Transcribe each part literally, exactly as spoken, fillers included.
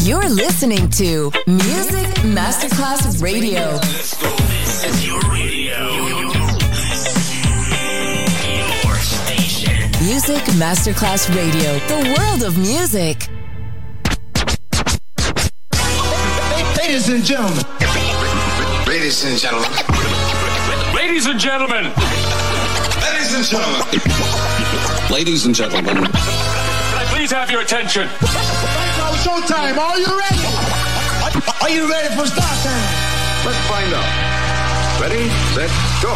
You're listening to Music Masterclass Radio. Let's go. This is your radio. Your station. Music Masterclass Radio. The world of music. Ladies and gentlemen. Ladies and gentlemen. Ladies and gentlemen. Ladies and gentlemen. Ladies and gentlemen. Can I please have your attention? Showtime. Are you ready? Are you ready for start time? Let's find out. Ready, set, go.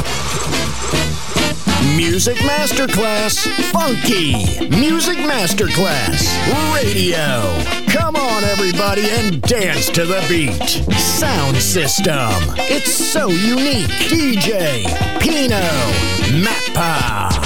Music Masterclass Funky. Music Masterclass Radio. Come on, everybody, and dance to the beat. Sound system. It's so unique. D J Pino Mappa.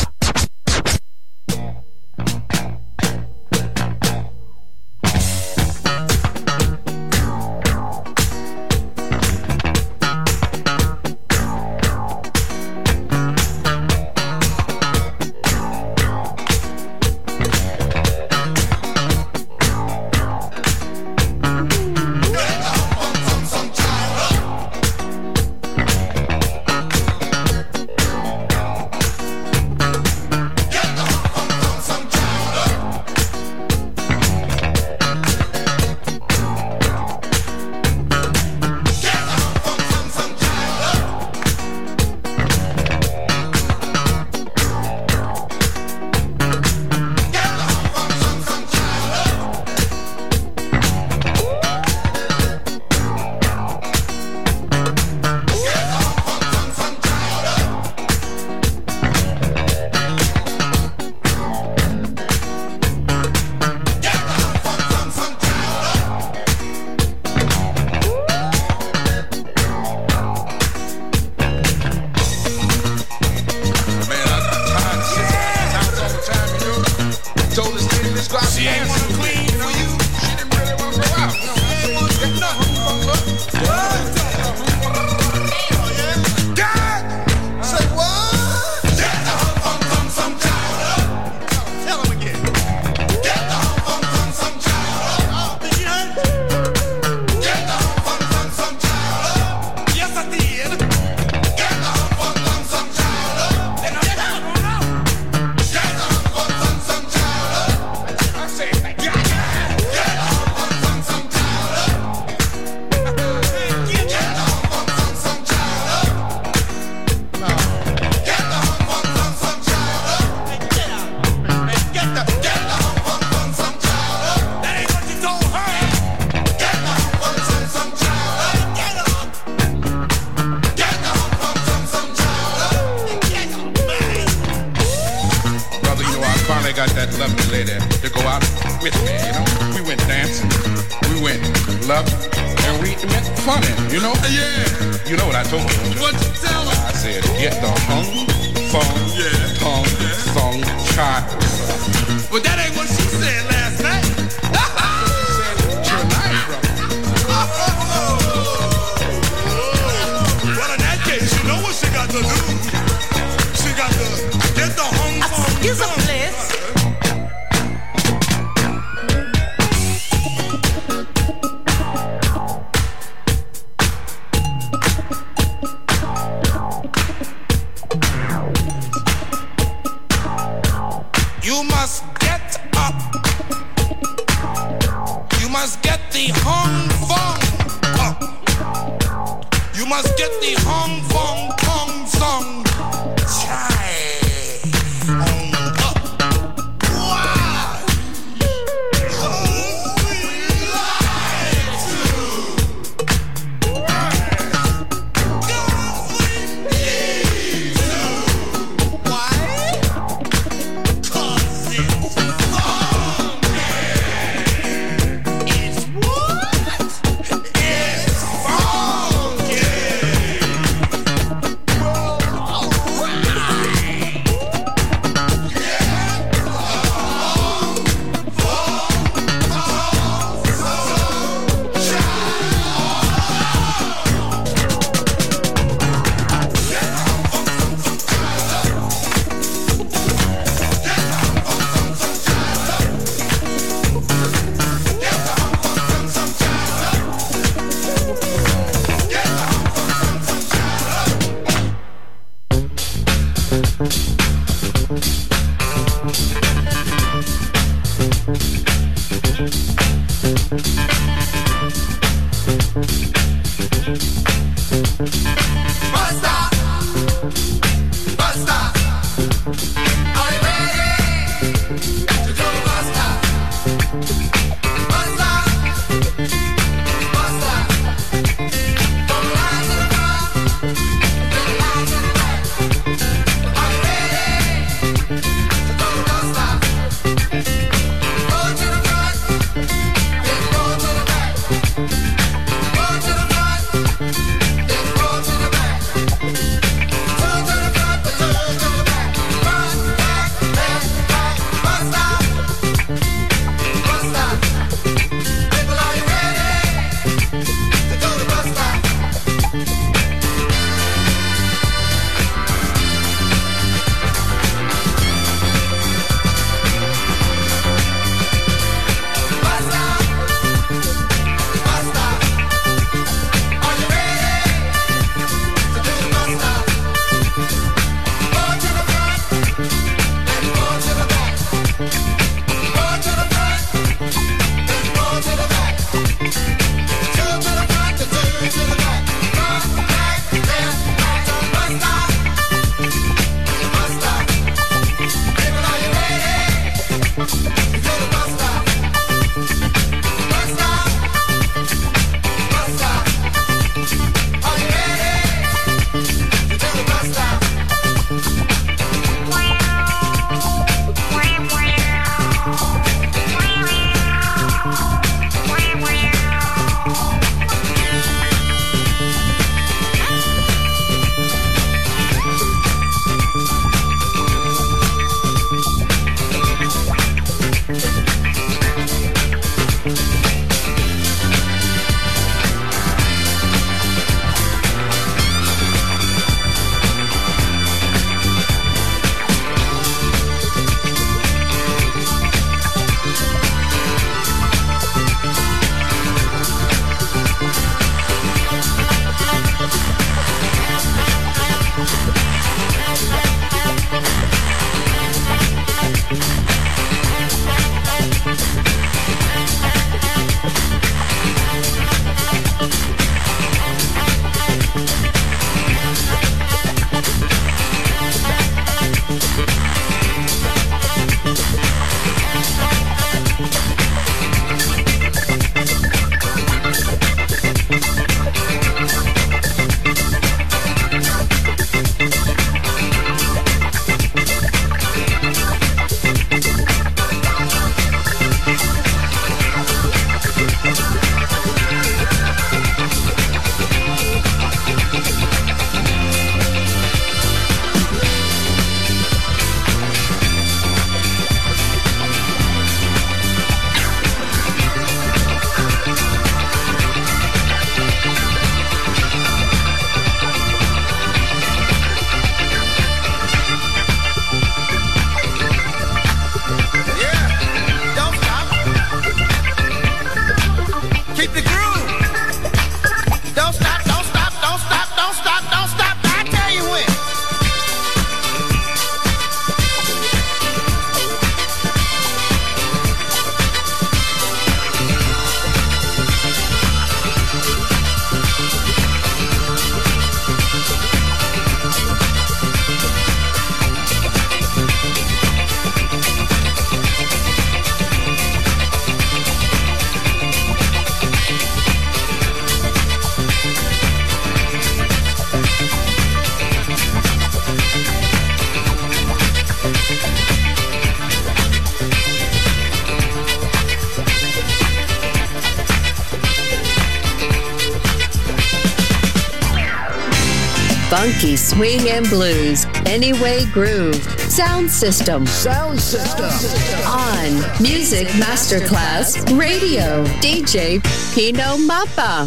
Funky swing and blues. Anyway Groove. Sound System. Sound System. On Music Masterclass Radio. D J Pino Mappa.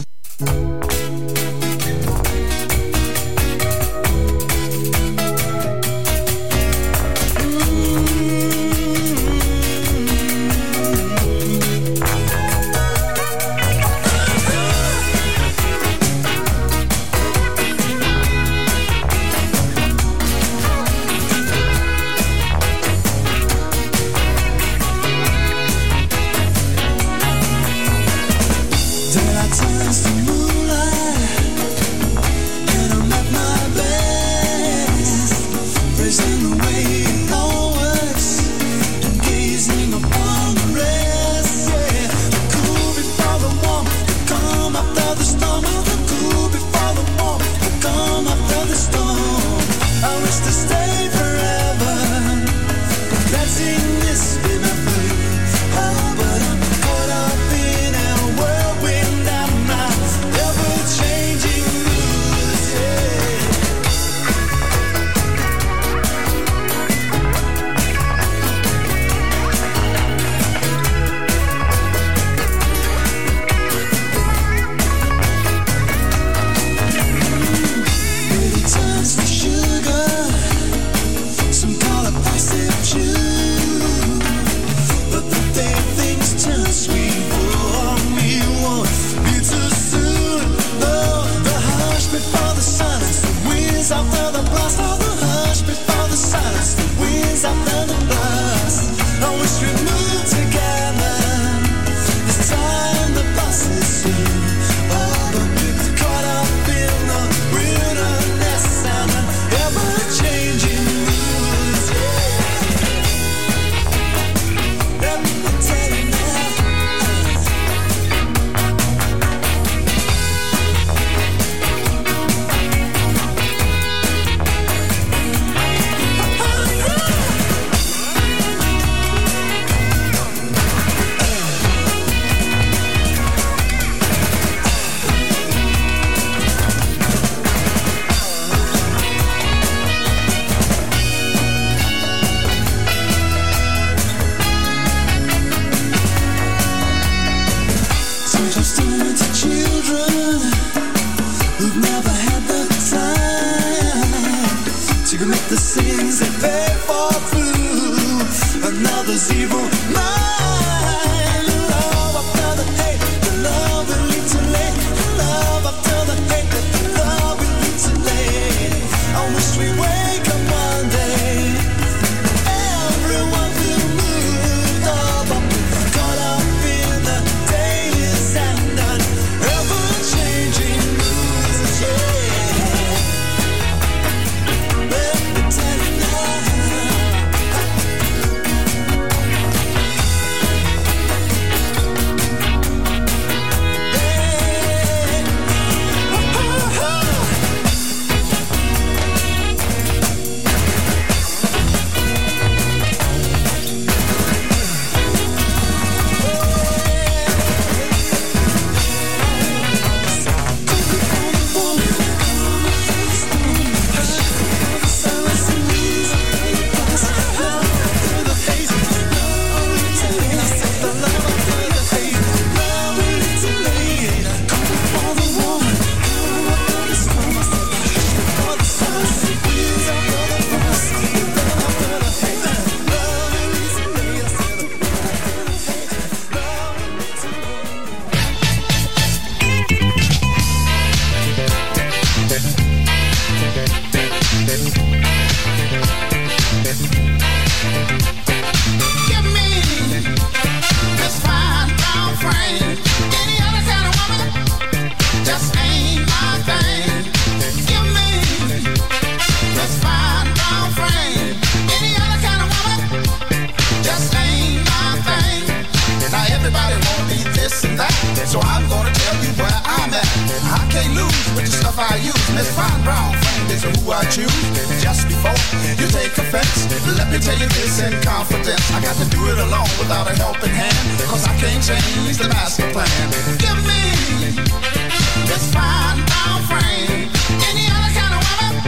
So I'm gonna tell you where I'm at. I can't lose with the stuff I use. Miss Fine Brown Frame is who I choose. Just before you take offense, let me tell you this in confidence. I got to do it alone without a helping hand, cause I can't change the master plan. Give me this fine brown frame. Any other kind of woman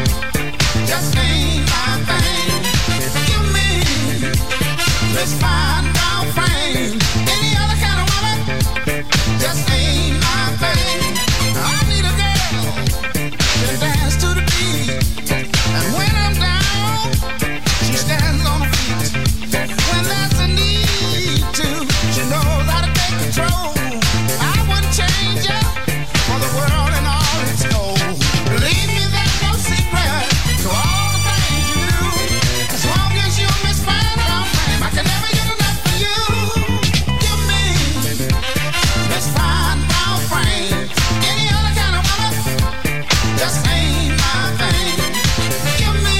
Miss Fine Brown Frame. Any other kind of woman just ain't my thing. I need a girl to dance to the beat, and when I'm down, she stands on her feet. When there's a need to, she knows how to take control. I wouldn't change her for the world and all its gold. Believe me, there's no secret to all the things you do. As long as you Miss Fine Brown Frame, I can never get enough of you. Give me Miss Fine Brown Frame. Any other kind of woman just ain't my thing. Give me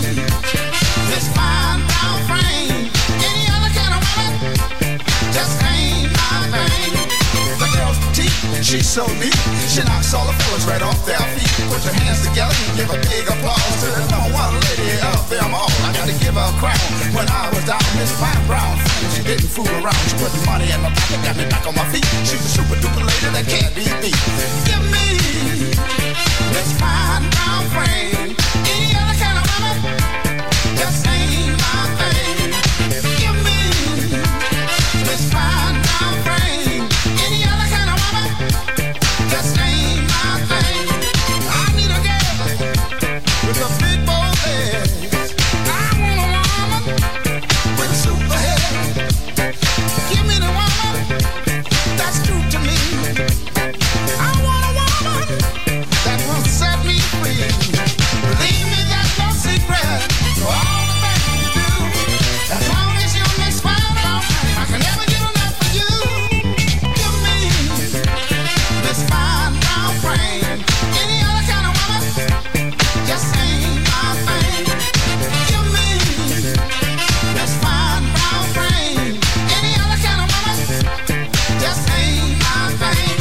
Miss Fine Brown Frame. Any other kind of woman just ain't my thing. The girl's petite, she's so neat. She knocks all the fellas right off their feet. Put your hands together and give a big applause to the number one lady of them all. I got to give her a crown. When I was down, Miss Fine Brown Frame, she didn't fool around. She put money in my pocket, got me back on my feet. She's a super duper lady that can't be beat. Give me Miss Fine Brown Frame. Any other kind of woman just ain't my thing. Give me Miss Fine Brown Frame. Any other kind of woman just ain't my thing. I need a girl with a big bold head. I want a woman with a super head. Give me the woman that's true to me. I want a woman that will set me free. Believe me, there's no secret to all the things you do. As long as you Miss Fine Brown Frame, I can never get enough of you. Give me Miss Fine Brown Frame. Any other kind of woman just ain't my thing. Give me Miss Fine Brown Frame. Any other kind of woman just ain't my thing.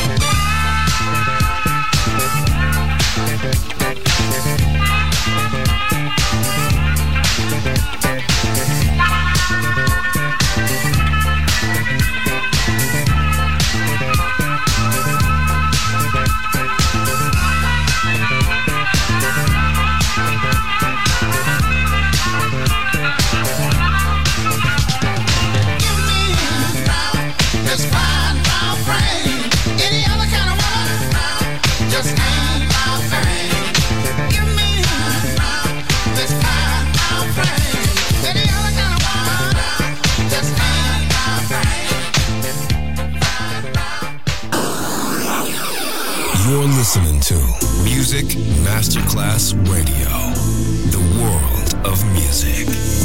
Miss Fine Brown Frame. Any other kind of woman just ain't my thing. Give me Miss Fine Brown Frame. Any other kind of woman just ain't my thing. You're listening to Music Masterclass Radio, the world of music.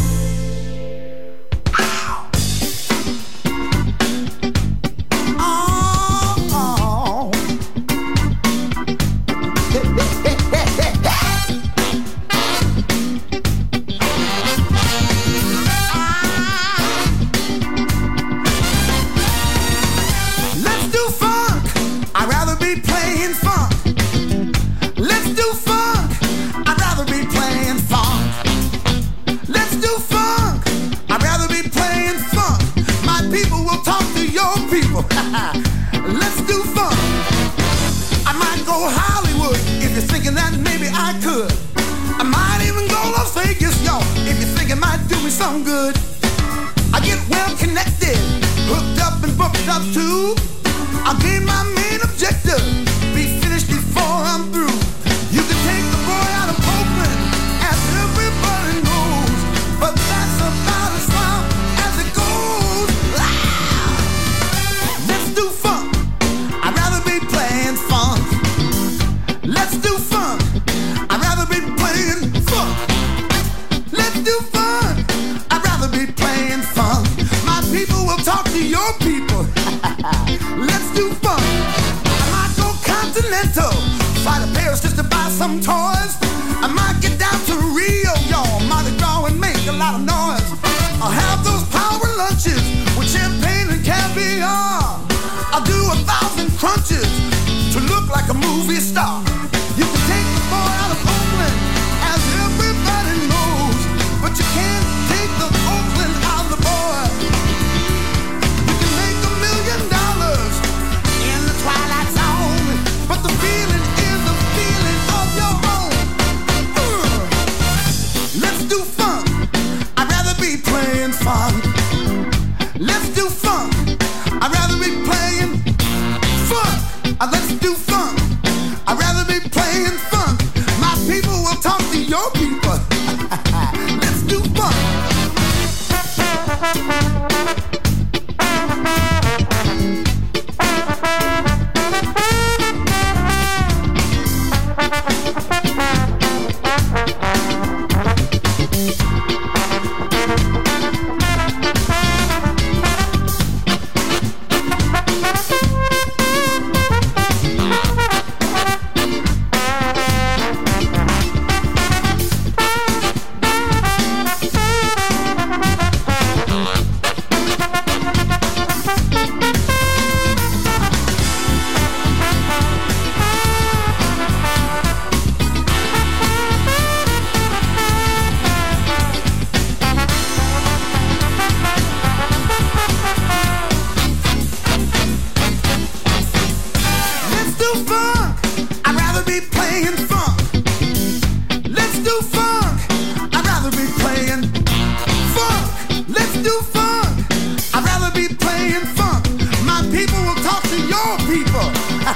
Let's do funk. I'd rather be playing funk. Let's do funk. I'd rather be playing funk. Let's do funk. I'd rather be playing funk. My people will talk to your people. Let's do funk. I might go Hollywood if you're thinking that maybe I could. I might even go Las Vegas, y'all, if you think it might do me some good. I get well connected, hooked up and booked up too. I'll gain my main objective, be finished before I'm through. You can take the boy out of Oakland, as everybody knows, but that's about as far as it goes. Ah! Let's do funk. I'd rather be playing funk. Let's do funk. I'd rather be playing funk. Let's do funk. I'd rather be playing funk. My people will talk to your people. Let's do funk. I might go continental, fly to Paris just to buy some toys. I might get down to Rio, y'all, Mardi Gras and make a lot of noise. I'll have those power lunches with champagne and caviar. I'll do a thousand crunches to look like a movie star. You can take the boy out of Oakland, as everybody knows, but you can't take the Oakland out of the boy. You can make a million dollars in the Twilight Zone, but the feeling is the feeling of your own. Uh, let's do funk. I'd rather be playing funk.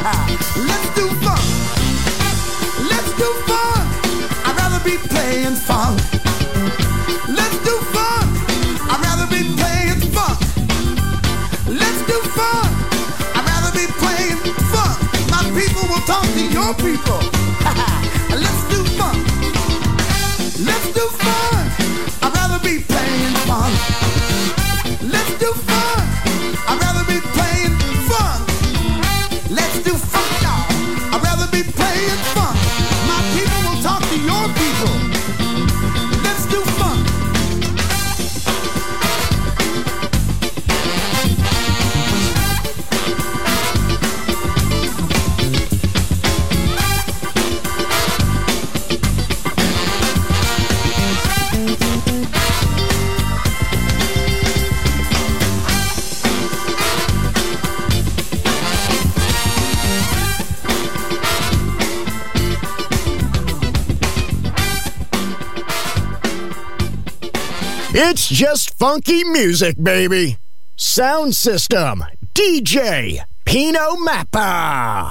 Let's do funk. Let's do funk. I'd rather be playing funk. Let's do funk. I'd rather be playing funk. Let's do funk. I'd rather be playing funk. My people will talk to your people. Let's do funk. Let's do fun. I'd rather be playing fun. Let's do fun. I'd rather be playing fun. Let's do fun, y'all. I'd rather be playing fun. My people will talk to your people. Let's do fun. It's just funky music, baby. Sound system, D J Pino Mappa.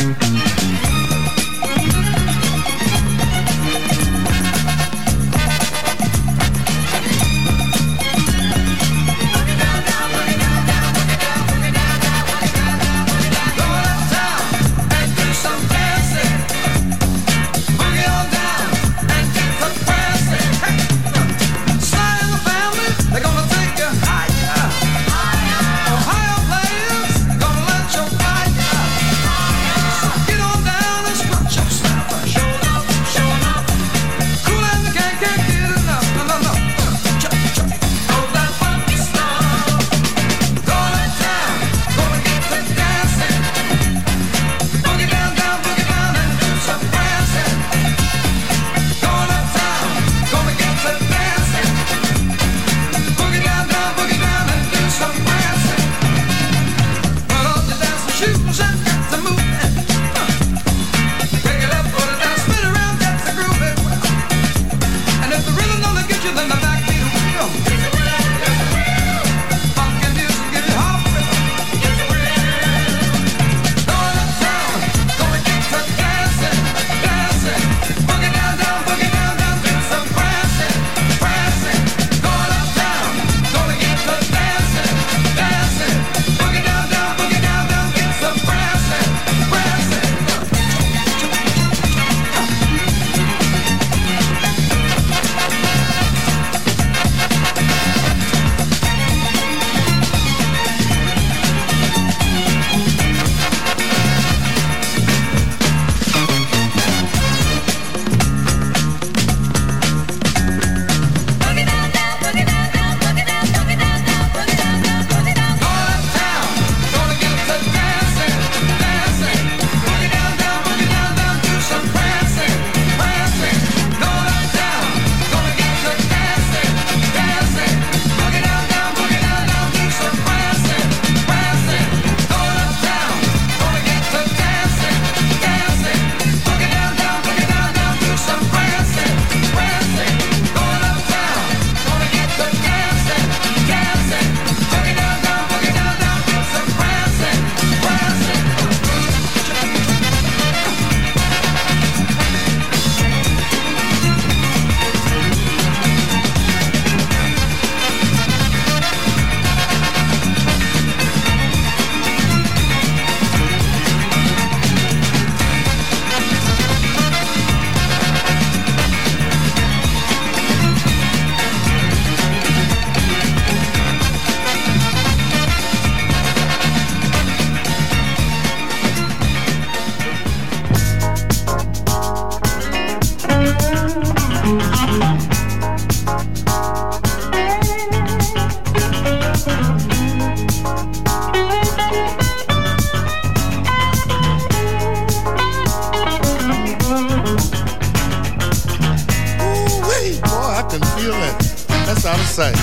say.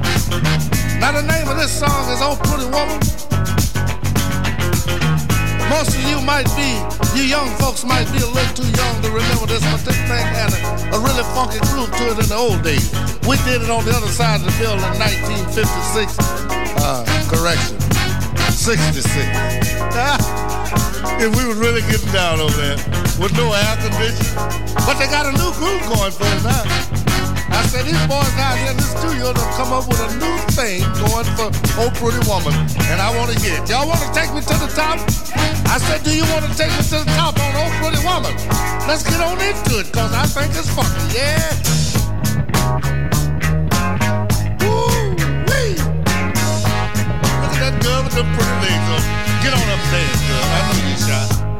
Now the name of this song is Oh Pretty Woman. Most of you might be, you young folks might be a little too young to remember this, but this thing had a, a really funky groove to it in the old days. We did it on the other side of the building in nineteen fifty-six. Uh, correction, sixty-six. if we was really getting down over there with no air conditioning. But they got a new groove going for us now. I said, these boys out here in the studio done come up with a new thing going for Oh Pretty Woman. And I want to hear it. Y'all want to take me to the top? I said, do you want to take me to the top on Oh Pretty Woman? Let's get on into it, because I think it's funky, yeah? Woo-wee! Look at that girl with them pretty legs on. Get on up there, girl. I know you shy.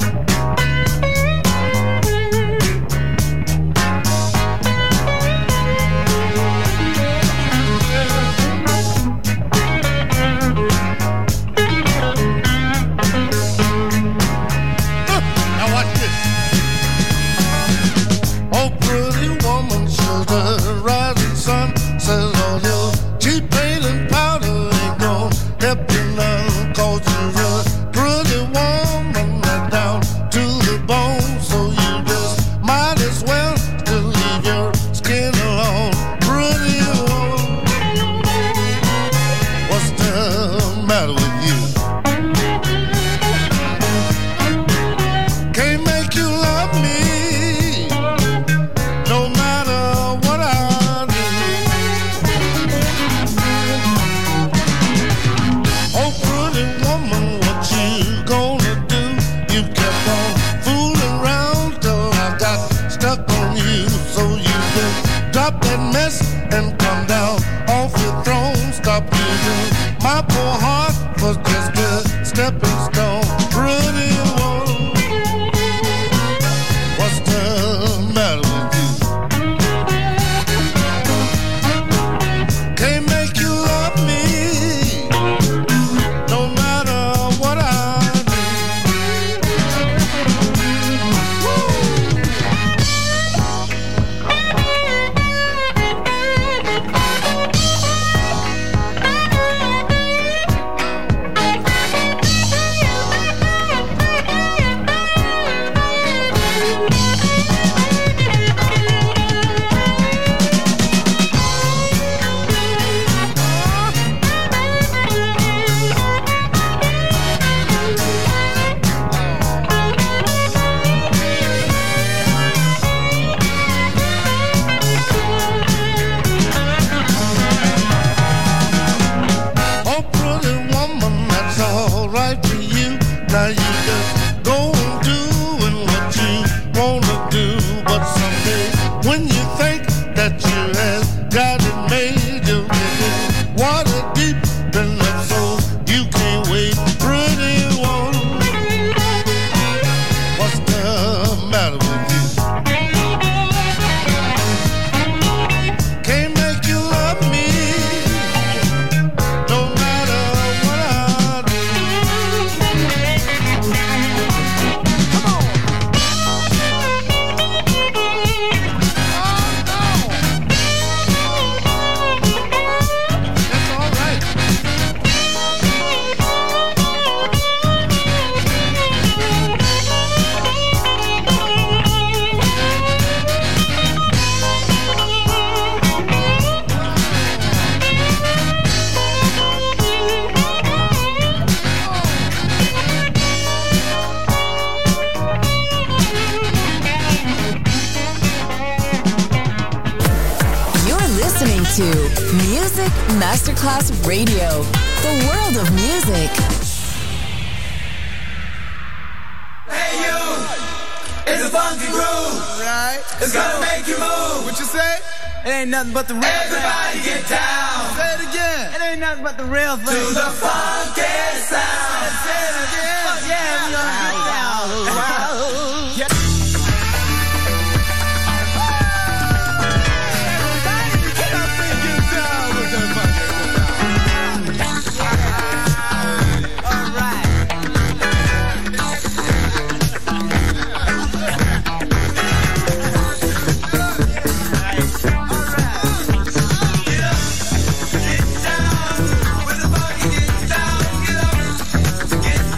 Masterclass Radio, the world of music. Hey you, it's a funky groove, right? It's gonna make you move. What you say? It ain't nothing but the real thing. Everybody get down. Say it again. It ain't nothing but the real thing. To the funky sound. Say it again. Oh, yeah, we gonna get down. Wow. Yeah. Get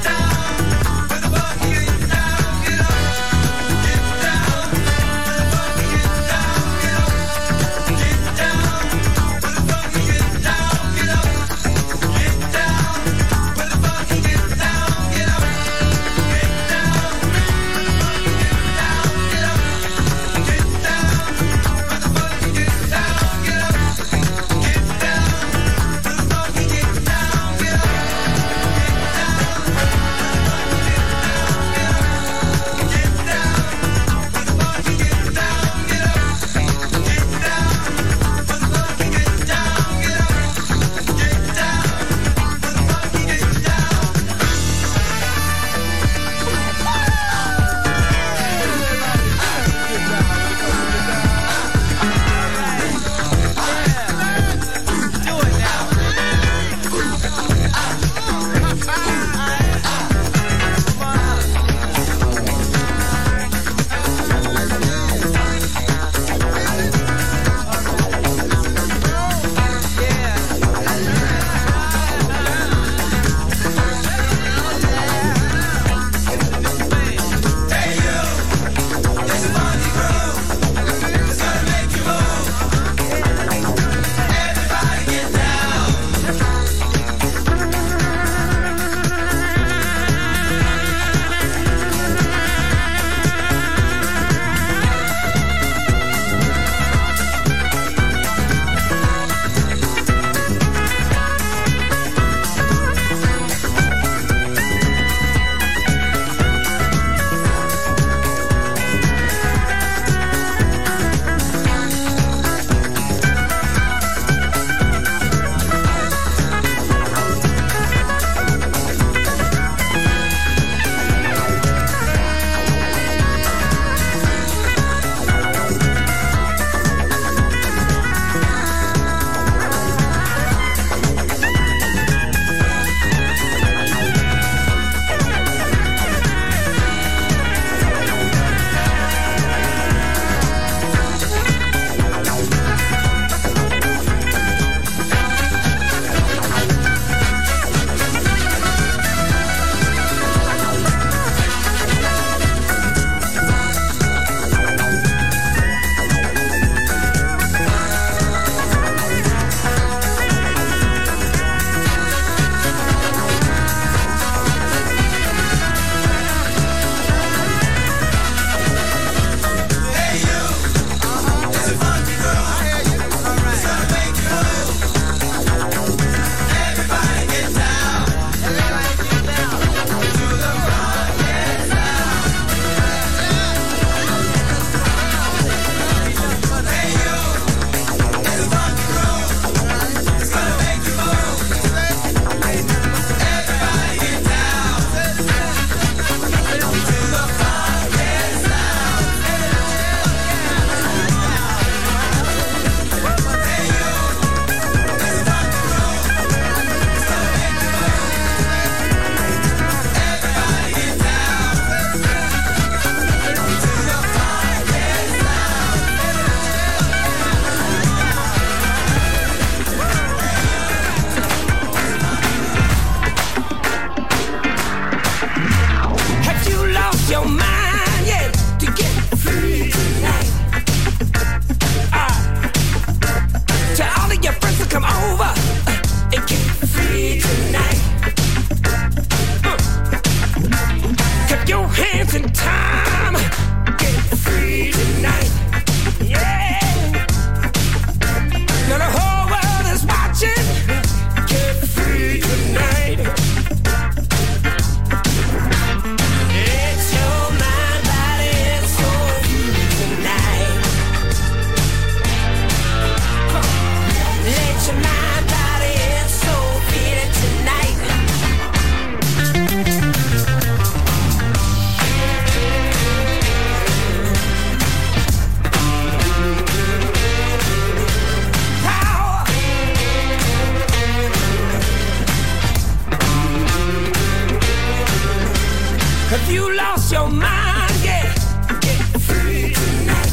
Have you lost your mind? Yeah, get free tonight.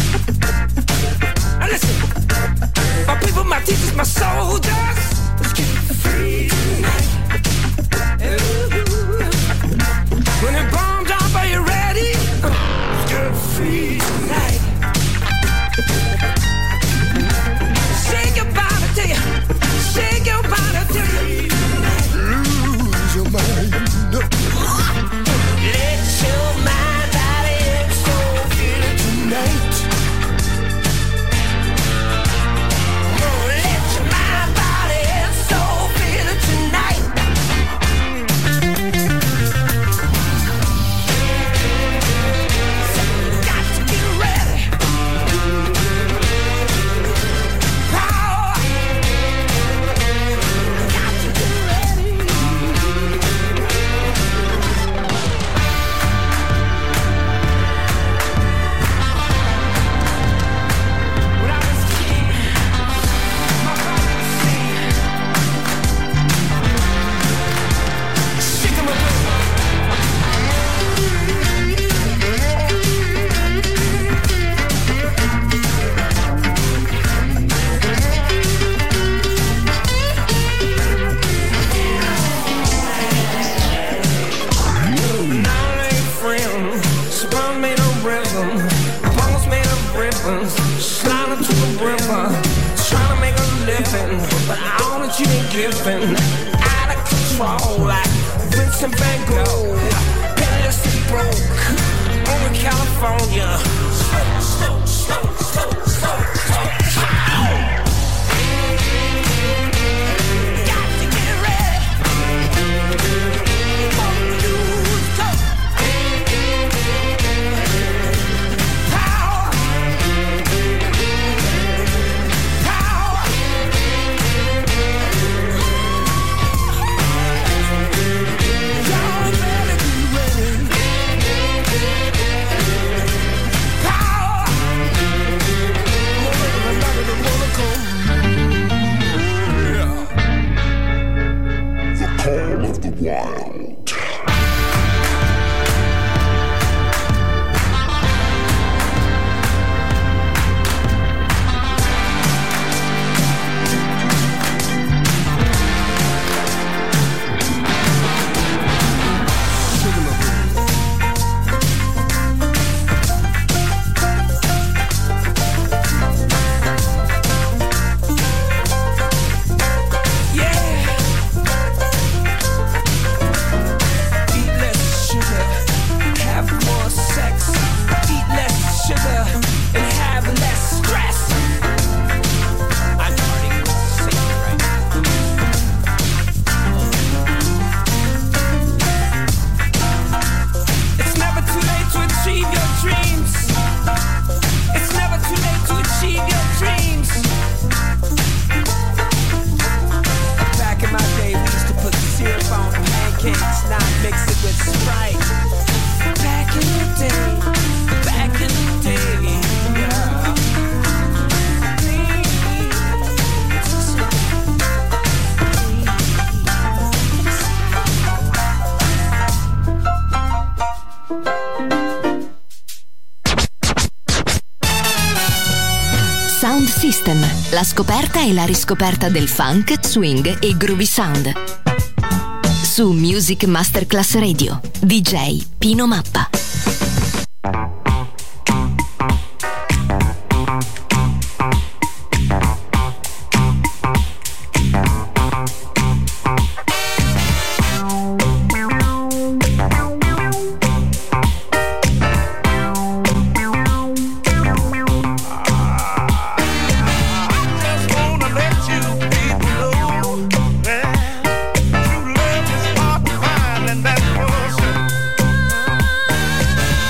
Now listen, my people, my teachers, my soldiers, let's get free tonight. Ooh. When the bomb drop, are you ready? Let's get free tonight. Shake your body till you, shake your body till you lose your mind. Let your mind, body, and soul feel it tonight. Oh, let your mind, body, and soul feel it tonight. Got to get ready. Power. Got to get ready. When I was a kid, my father would sing. Stick 'em up. Now I ain't friends. Spun made of rhythm. Bones made of ribbons. Sliding to the river. Trying to make a living. But all that you ain't giving. Out of control like Vincent Van Gogh. Penniless and broke. Over California. Slow, slow, slow, slow, slow, slow. Got to get ready. Call of the Wild. Eat less sugar, have more sex. Eat less sugar and have less stress. I'm starting to sing right now. It's never too late to achieve your dreams. It's never too late to achieve your dreams. Back in my day, we used to put syrup on pancakes, now mix it with Sprite. Back in the day, back in the day, yeah. Sound System, la scoperta e la riscoperta del funk, swing e groovy sound. Su Music Masterclass Radio, D J Pino Mappa. Just wanna let you people know that true love is hard to find, and that's for sure.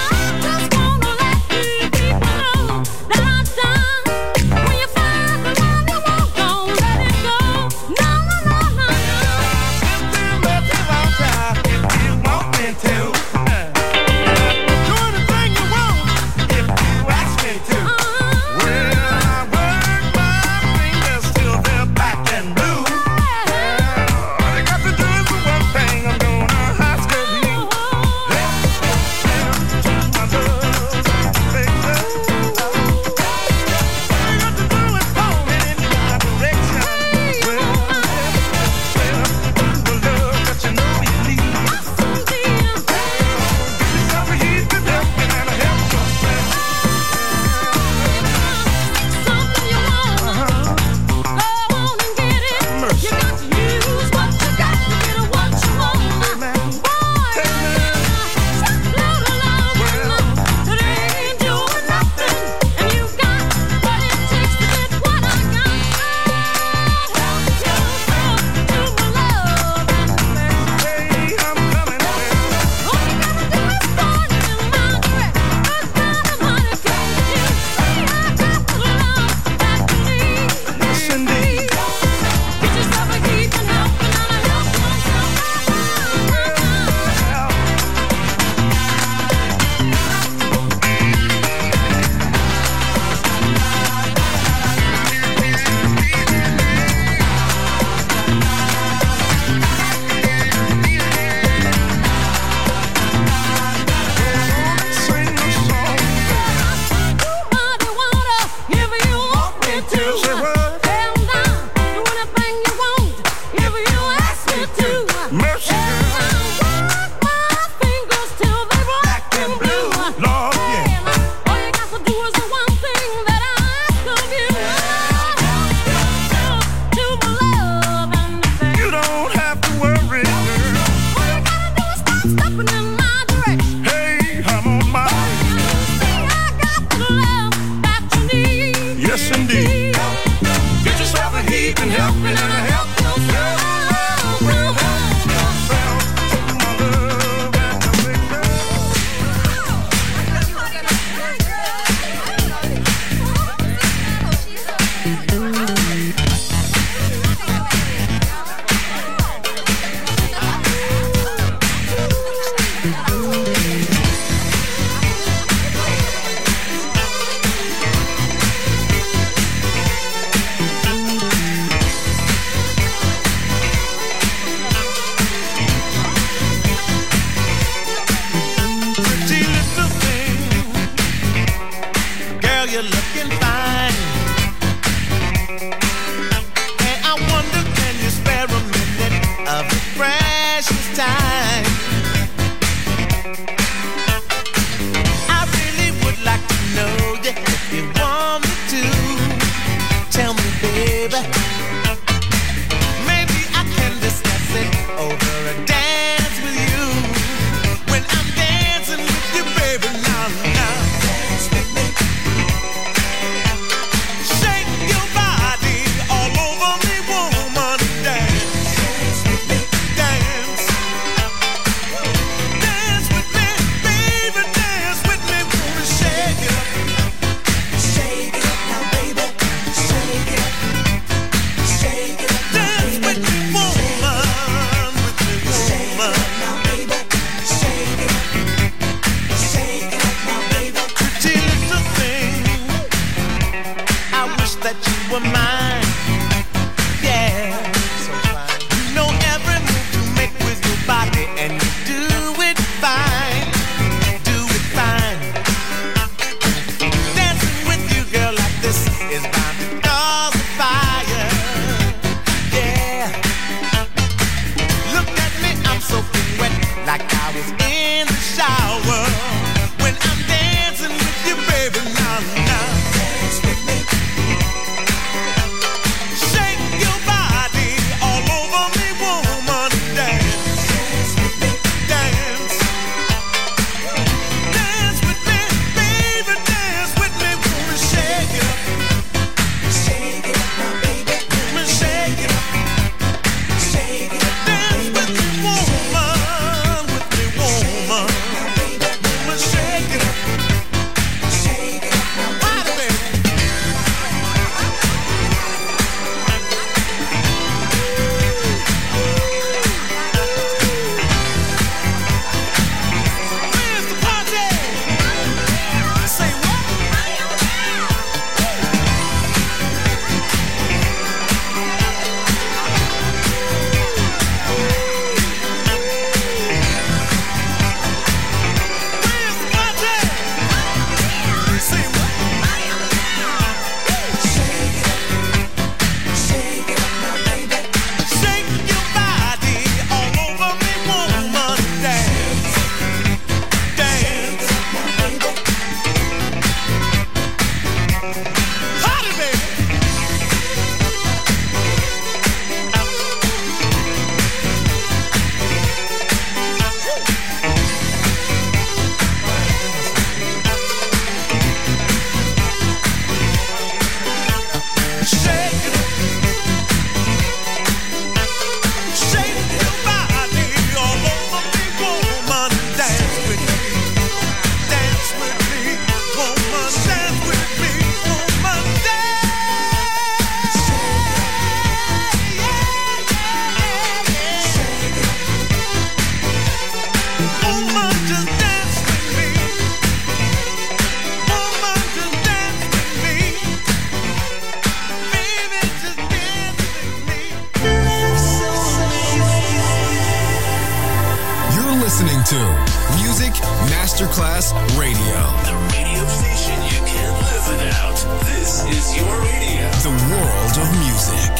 Masterclass Radio. The radio station you can't live without. This is your radio. The world of music.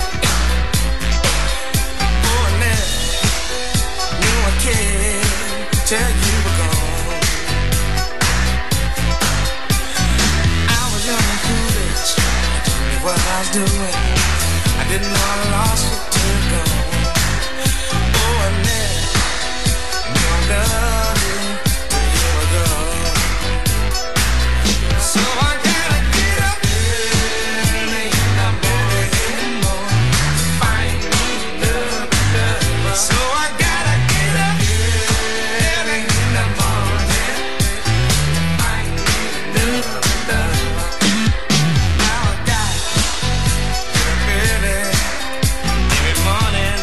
Oh, till you were gone. I was young and foolish, I didn't know what I was doing. I didn't know I lost you till gone. Oh, I never knew I loved you till you were gone. So I gotta get up early in the morning, find me love, love. So I gotta get up early in the morning, find me love, love. Now I got early every morning,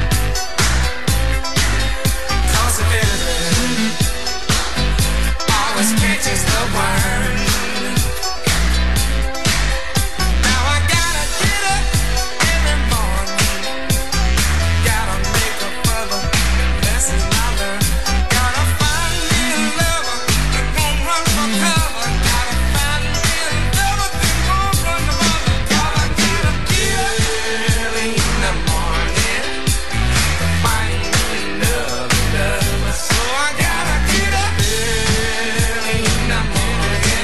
'cause the early always catches the worm. Now I gotta get up every morning, gotta make up for the lesson I learned. Gotta find me a lover that won't run for cover. Gotta find me a lover that won't run for cover. Gotta get up early in the morning, find me love, love. So I gotta get up early in the morning,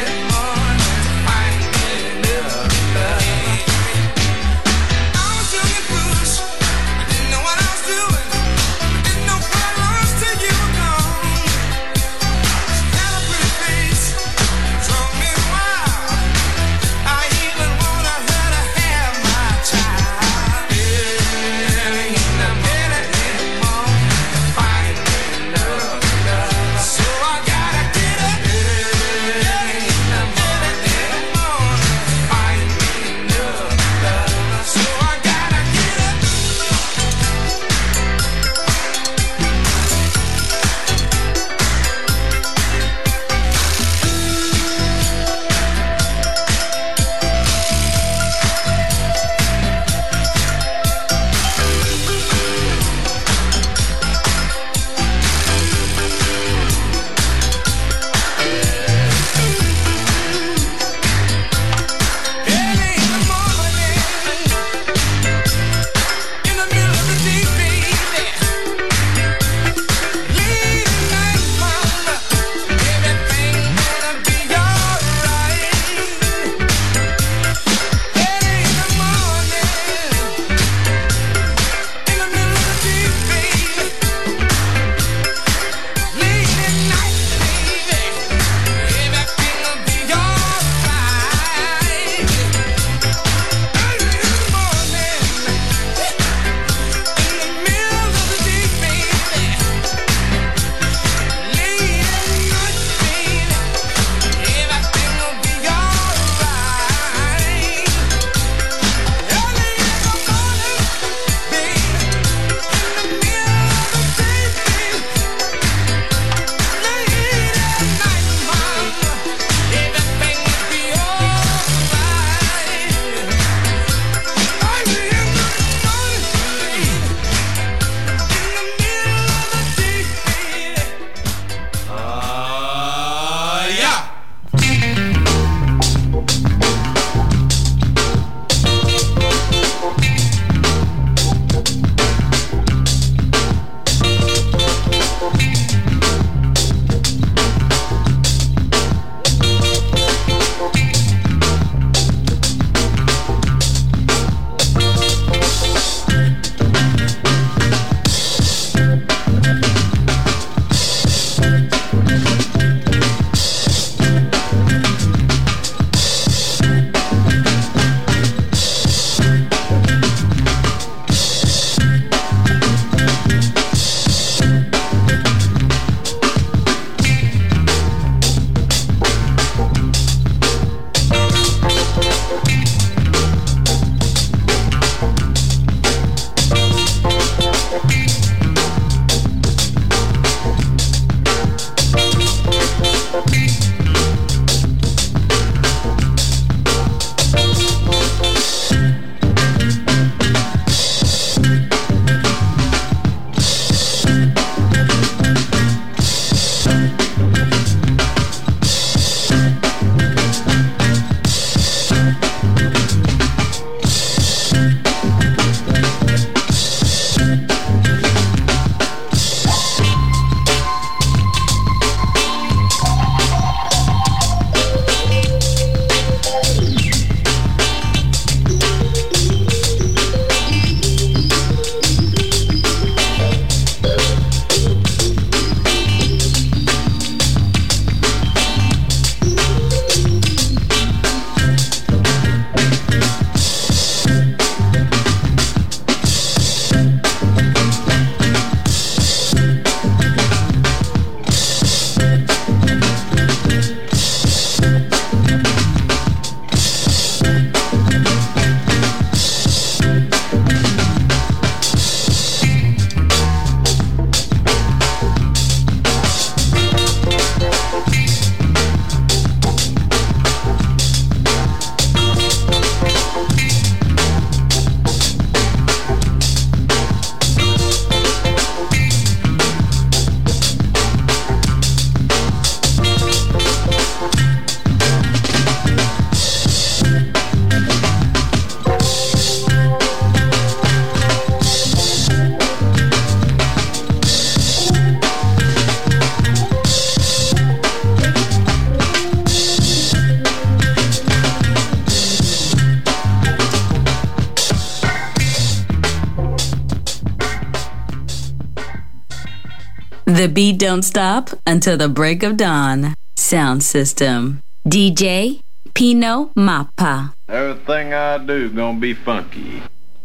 beat don't stop until the break of dawn. Sound System. D J Pino Mappa. Everything I do gonna be funky.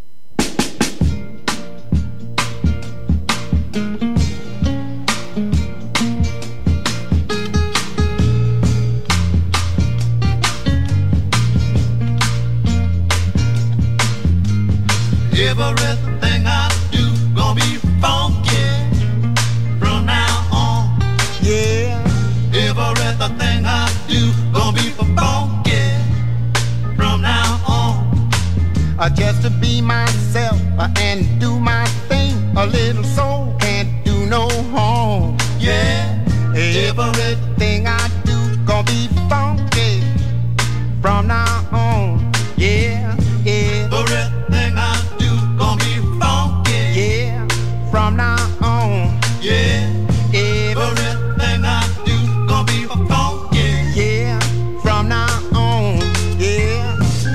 Everything I do gonna be funky from now on. Yeah. Everything I do gonna be funky from now on. Uh, just to be myself uh, and do my thing. A little soul can't do no harm. Yeah. Everything I do gonna be funky from now on. Yeah. Everything I from now on, yeah. Everything I do gonna be funky, yeah. From now on, yeah.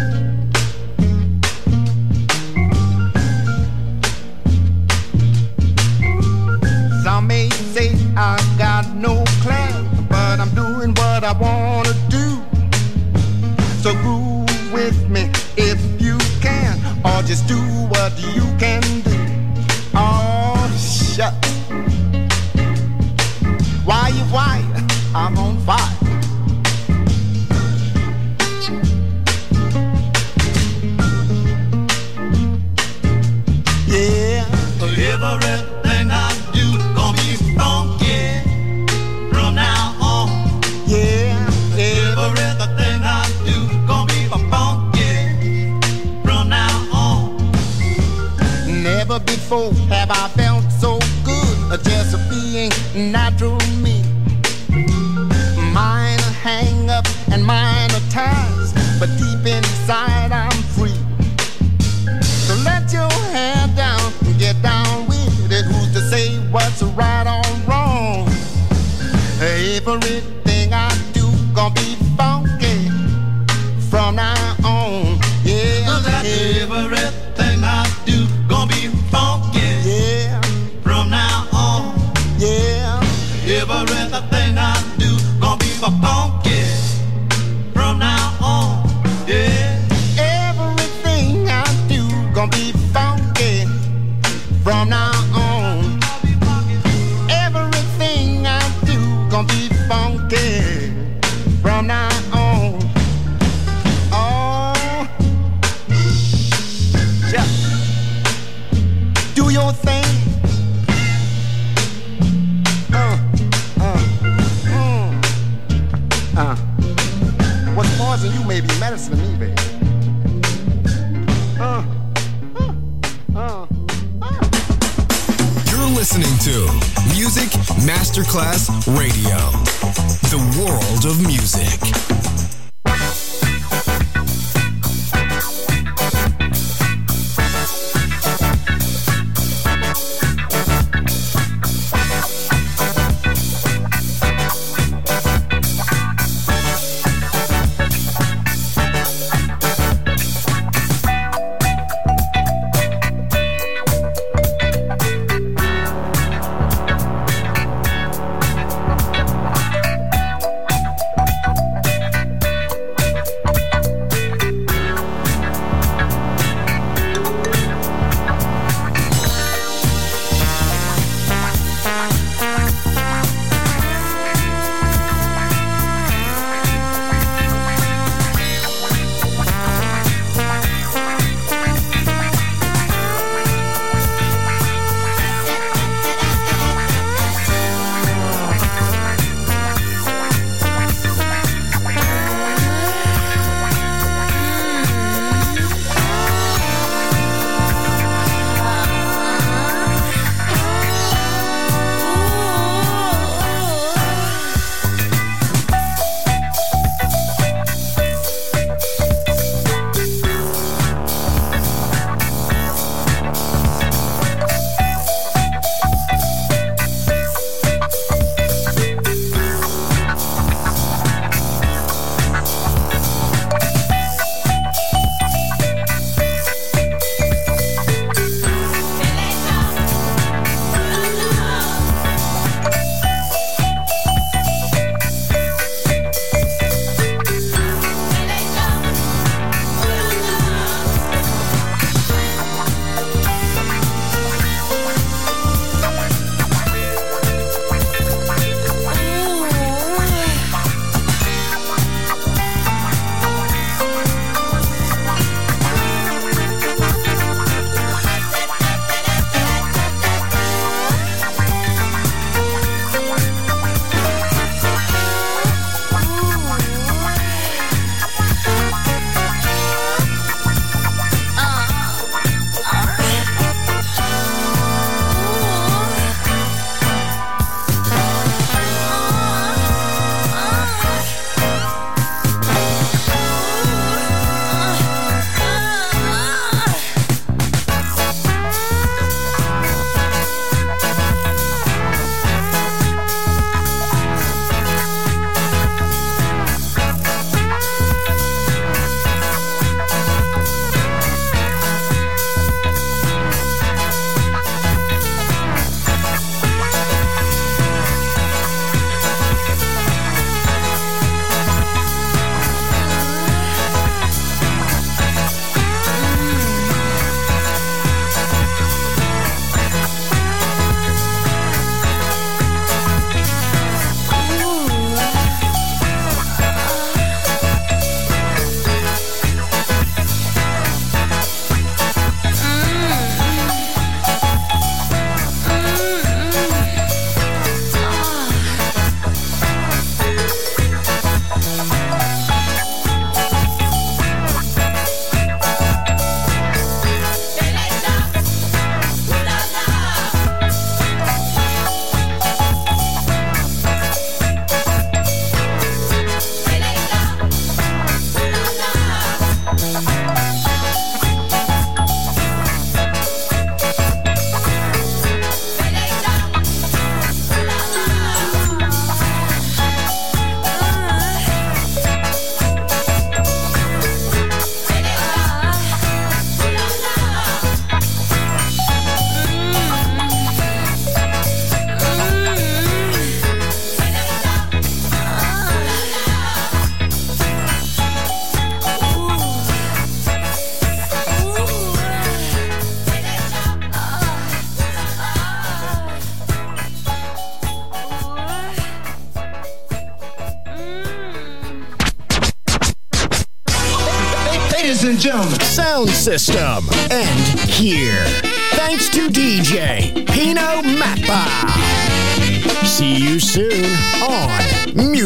Some may say I got no class, but I'm doing what I wanna do. So groove with me if you can, or just do what you can do. Oh, shut. Why you why? I'm on fire. Yeah. Everything I do gonna be funky from now on. Yeah. Everything I do gonna be funky from now on. Never before have I felt so good, just being natural me. Minor hang up and minor ties, but deep inside I'm free. So let your hair down and get down with it. Who's to say what's right or wrong? Everything I do gonna be funky from now on. Yeah, everything I do gonna be funky. Yeah, from now on. Yeah, everything I do gonna be funky from now on. Yeah, everything I do gonna be funky from now on. Everything I do gonna be funky from now on. Oh, yeah. Do your thing. Uh, uh, mm. uh. What's poison you may be medicine to me, baby. Uh, uh, uh, uh. You're listening to Music Masterclass Radio, the world of music. Ladies and gentlemen, Sound System. And here, thanks to D J Pino Mappa. See you soon on Music